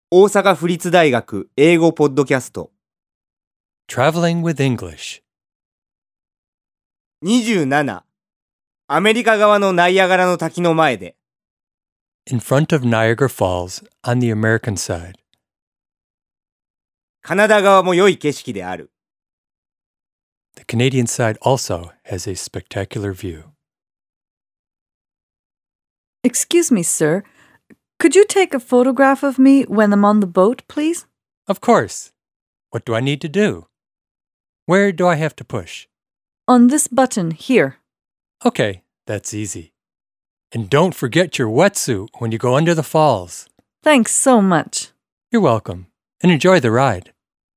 大阪府立大学英語ポッドキャスト Traveling with English. 27アメリカ側のナイアガラの滝の前で In front of Niagara Falls on the American side. カナダ側も良い景色である The Canadian side also has a spectacular view. Excuse me, sir. Could you take a photograph of me when I'm on the boat, please? Of course. What do I need to do? Where do I have to push? On this button here. Okay, that's easy. And don't forget your wetsuit when you go under the falls. Thanks so much. You're welcome, and enjoy the ride.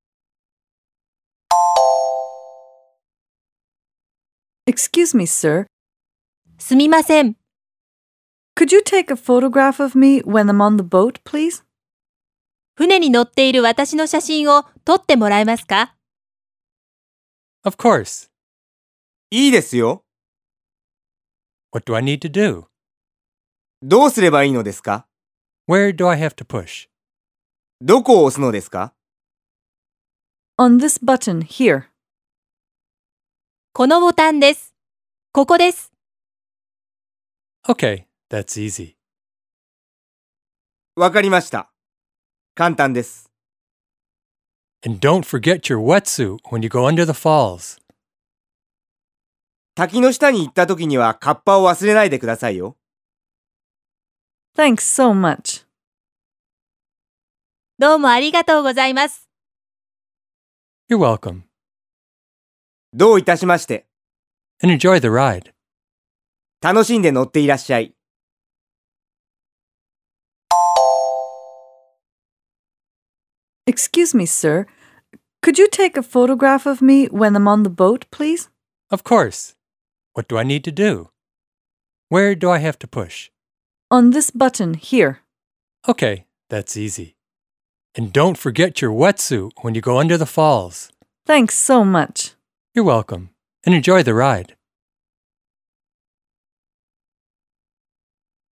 Excuse me, sir. すみません。 Could you take a photograph of me when I'm on the boat, please? 船に乗っている私の写真を撮ってもらえますか？ Of course. いいですよ What do I need to do? どうすればいいのですか Where do I have to push? どこを押すのですか On this button here. このボタンです。ここです。 Okay, that's easy. わかりました簡単です And don't forget your wetsuit when you go under the falls. 滝の下に行った時にはカッパを忘れないでくださいよ Thanks so much. どうもありがとうございます。 You're welcome, どういたしまして and enjoy the ride. 楽しんで乗っていらっしゃい Excuse me, sir. Could you take a photograph of me when I'm on the boat, please? Of course. What do I need to do? Where do I have to push? On this button here. Okay, that's easy. And don't forget your wetsuit when you go under the falls. Thanks so much. You're welcome, and enjoy the ride.